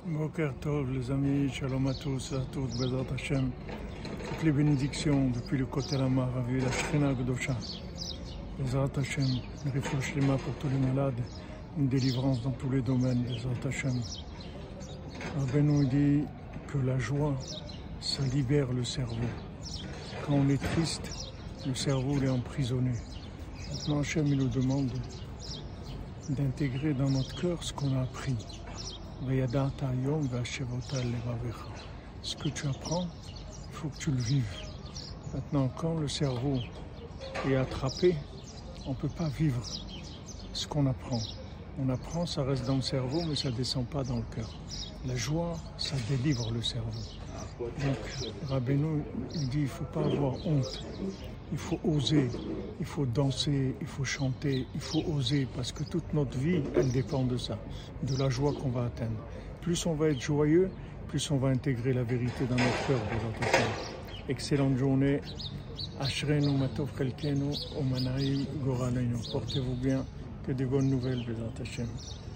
Boker Tov, les amis, shalom à tous, à toutes, Bezat Hashem. Toutes les bénédictions depuis le côté de la Maravi, la Shrina Gdosha. Bezat Hashem, une réfouche les mains pour tous les malades, une délivrance dans tous les domaines, Bezat Hashem. Rabbeinu dit que la joie, ça libère le cerveau. Quand on est triste, le cerveau est emprisonné. Maintenant Hashem il nous demande d'intégrer dans notre cœur ce qu'on a appris. Ce que tu apprends, il faut que tu le vives. Maintenant, quand le cerveau est attrapé, on ne peut pas vivre ce qu'on apprend. On apprend, ça reste dans le cerveau, mais ça ne descend pas dans le cœur. La joie, ça délivre le cerveau. Donc, Rabbeinu, il dit, il ne faut pas avoir honte. Il faut oser, il faut danser, il faut chanter, il faut oser, parce que toute notre vie, elle dépend de ça, de la joie qu'on va atteindre. Plus on va être joyeux, plus on va intégrer la vérité dans notre cœur. Excellente journée. Ashrenu matov chelkenu umanaim goralenu. Portez-vous bien, que des bonnes nouvelles, Bezat Hashem.